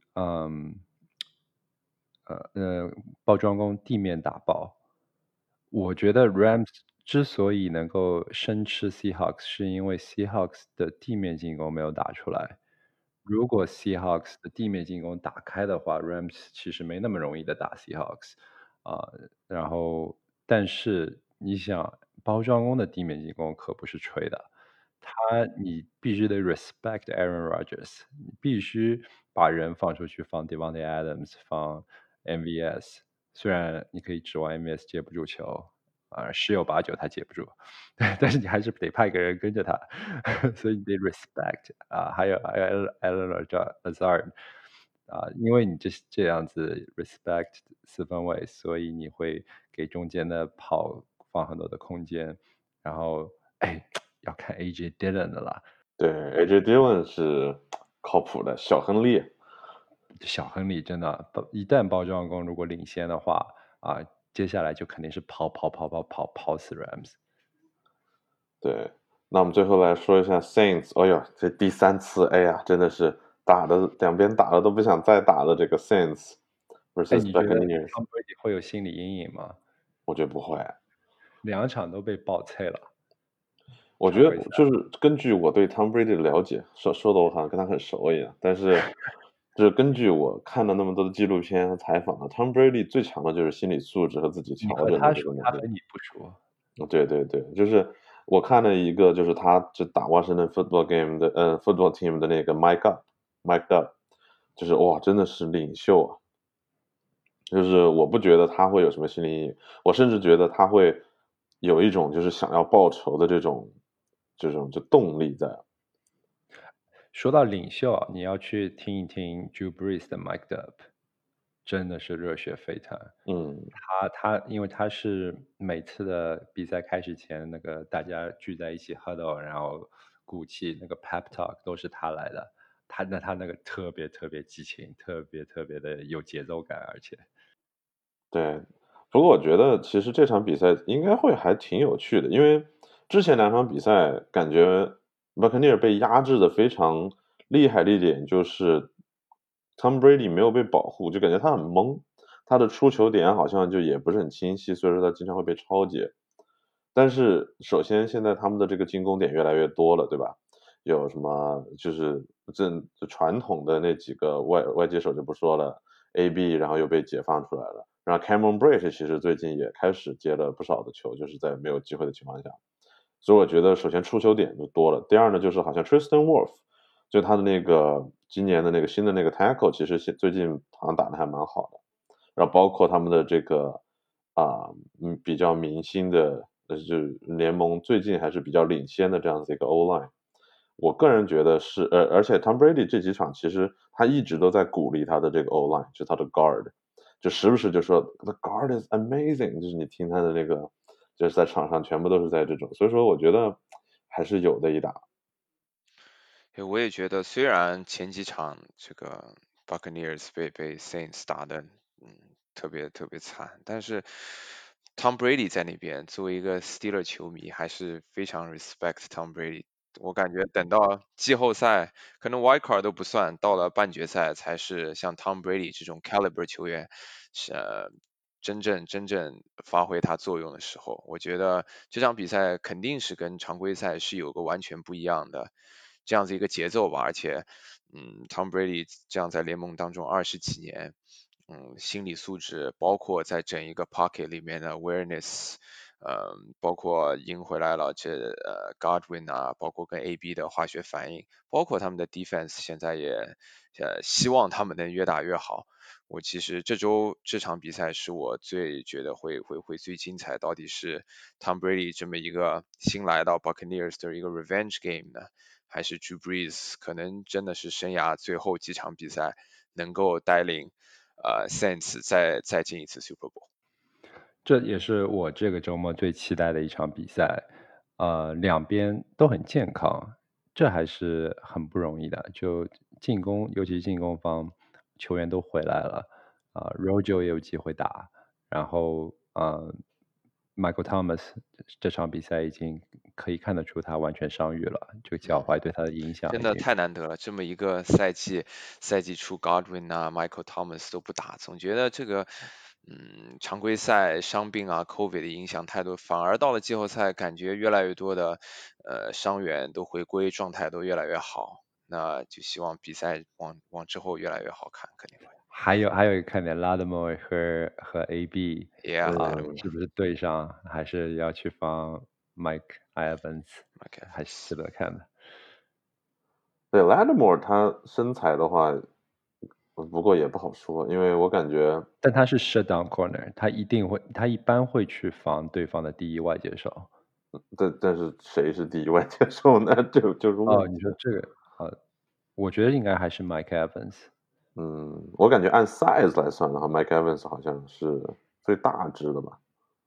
包装工地面打爆。我觉得 Rams 之所以能够生吃 Seahawks，是因为 Seahawks 的地面进攻没有打出来。如果 Seahawks 的地面进攻打开的话，Rams 其实没那么容易的打 Seahawks 啊、然后，但是你想，包装工的地面进攻可不是吹的，你必须得 respect Aaron Rodgers，你必须把人放出去，放 Devontae Adams，放 MVS，虽然你可以指望 MVS 接不住球，十有八九他接不住，但是你还是得派个人跟着他，所以你得 respect 还有 Alan Lazard 因为你这样子 respect 四分卫，所以你会给中间的跑放很多的空间，然后要看 AJ Dillon 的啦， 对，AJ Dillon 是靠谱的，小亨利。 小亨利真的一旦包装工如果领先的话接下来就肯定是跑死 Rams。 对，那我们最后来说一下 Saints。哎呦，这第三次，哎呀，真的是打的两边打的都不想再打的这个 Saints 哎， versus 你觉得 Buccaneers， Tom Brady 会有心理阴影吗？ 我觉得不会。 两场都被爆脆了， 我觉得常规赛。 就是根据我对 Tom Brady 的了解，说的我好像跟他很熟一样，但是就是根据我看了那么多的纪录片和采访，Tom Brady 最强的就是心理素质和自己你调整的和他说， 这个能力。 他和你不说。 对对对，就是我看了一个，就是他就打 Washington Football Game 的Football Team 的那个 Mike Up，就是哇，真的是领袖啊！就是我不觉得他会有什么心理阴影，我甚至觉得他会有一种就是想要报仇的这种就动力在。 说到领袖你要去听一听 Drew Brees 的 Mic'd Up，真的是热血沸腾。 嗯， 因为他是每次的比赛开始前，那个大家聚在一起 huddle，然后鼓气那个 pep talk 都是他来的。他那个特别特别激情，特别特别的有节奏感，而且对。不过我觉得其实这场比赛应该会还挺有趣的，因为之前两场比赛感觉 Buccaneer 被压制的非常厉害的一点就是 Tom Brady 没有被保护，就感觉他很懵，他的出球点好像就也不是很清晰，所以说他经常会被抄截。但是首先现在他们的这个进攻点越来越多了，对吧？有什么就是就传统的那几个外接手就不说了，AB 然后又被解放出来了，然后 Cameron Brate 其实最近也开始接了不少的球，就是在没有机会的情况下，所以我觉得首先出球点就多了。第二呢，就是好像 Tristan Wirfs 就他的那个今年的那个新的那个 tackle，其实最近好像打得还蛮好的。然后包括他们的这个比较明星的，就是联盟最近还是比较领先的这样子一个 O line。我个人觉得是，而且 Tom Brady 这几场其实他一直都在鼓励他的这个 O line，就他的 guard，就时不时就说 The guard is amazing，就是你听他的那个，就是在场上全部都是在这种，所以说我觉得还是有的一打。 我也觉得，虽然前几场这个 Buccaneers 被 Saints 打的，特别特别惨，但是 Tom Brady 在那边作为一个 Steeler 球迷，还是非常 respect Tom Brady。我感觉等到季后赛，可能 Wild Card 都不算，到了半决赛才是像 Tom Brady 这种 caliber 球员是真正发挥他作用的时候。我觉得这场比赛肯定是跟常规赛是有个完全不一样的这样子一个节奏吧，而且，Tom Brady 这样在联盟当中20几年， 心理素质，包括在整一个 pocket 里面的 awareness，包括赢回来了Godwin 啊，包括跟 AB 的化学反应，包括他们的 defense 现在也希望他们能越打越好。我其实这周这场比赛是我最觉得会最精彩，到底是 Tom Brady 这么一个新来到 Buccaneers 的一个 revenge game 呢，还是 Drew Brees 可能真的是生涯最后几场比赛能够带领Saints 再进一次 Super Bowl。 这也是我这个周末最期待的一场比赛，两边都很健康，这还是很不容易的。就进攻，尤其是进攻方球员都回来了，Rojo 也有机会打，然后Michael Thomas 这场比赛已经可以看得出他完全伤愈了，这个脚踝对他的影响真的已经太难得了，这么一个赛季出 Godwin 啊、Michael Thomas 都不打，总觉得这个常规赛伤病啊、COVID 的影响太多，反而到了季后赛，感觉越来越多的伤员都回归，状态都越来越好。那就希望比赛往之后越来越好看，肯定会。 还有一个看点，Lattimore 和 AB Yeah， 是不是对上，还是要去防 Mike Evans， OK， 还是值得看的。 对 Lattimore 他身材的话，不过也不好说，因为我感觉， 但他是 shutdown corner，他一般会去防对方的第一外接手。 但是谁是第一外接手呢？这就是问你题。 说这个，我觉得应该还是 Mike Evans。 我感觉按 size 来算的话，Mike Evans 好像是最大只的吧？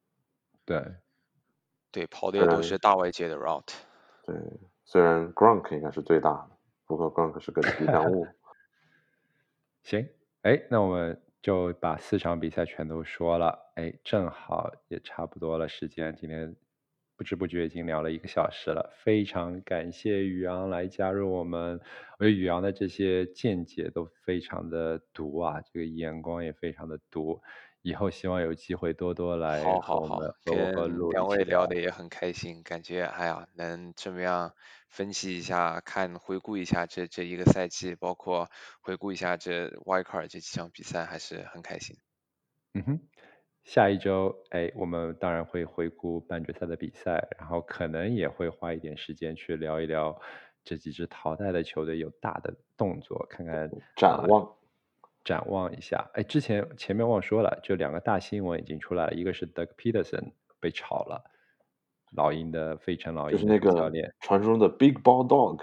对，跑的也都是大外接的 route。 对，虽然 Gronk 应该是最大的，不过 Gronk 是个吉祥物。 行，那我们就把4场比赛全都说了，正好也差不多了时间，今天不知不觉已经聊了1个小时了，非常感谢宇昂来加入我们，我觉得宇昂的这些见解都非常的毒啊，这个眼光也非常的毒，以后希望有机会多多来和我们和跟两位路一起聊的也很开心，感觉哎呀，能这么样分析一下，回顾一下这一个赛季，包括回顾一下这 Wildcard 这几场比赛，还是很开心。 下一周，我们当然会回顾半决赛的比赛，然后可能也会花一点时间去聊一聊这几支淘汰的球队有大的动作，看看展望一下。前面忘说了，就2个大新闻已经出来了，一个是 Doug Peterson 被炒了，费城老鹰的主教练， 传说中的 Big Ball Dog。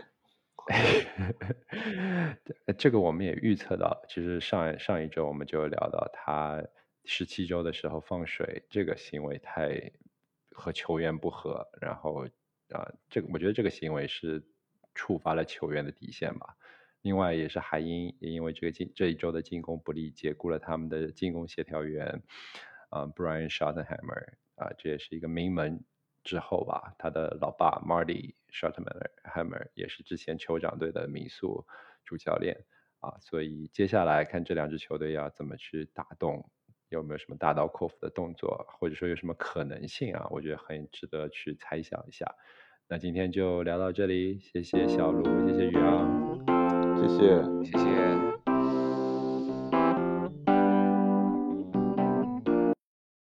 这个我们也预测到了，其实上一周我们就聊到他17周的时候放水这个行为太和球员不合，然后我觉得这个行为是触发了球员的底线吧。另外也是海鹰也因为这一周的进攻不利，解雇了他们的进攻协调员Brian Schottenheimer 这也是一个名门之后吧，他的老爸 Marty Schottenheimer 也是之前酋长队的民宿主教练所以接下来看这2支球队要怎么去打动，有没有什么大刀阔斧的动作，或者说有什么可能性我觉得很值得去猜想一下。那今天就聊到这里，谢谢小卢，谢谢宇昂， 谢谢。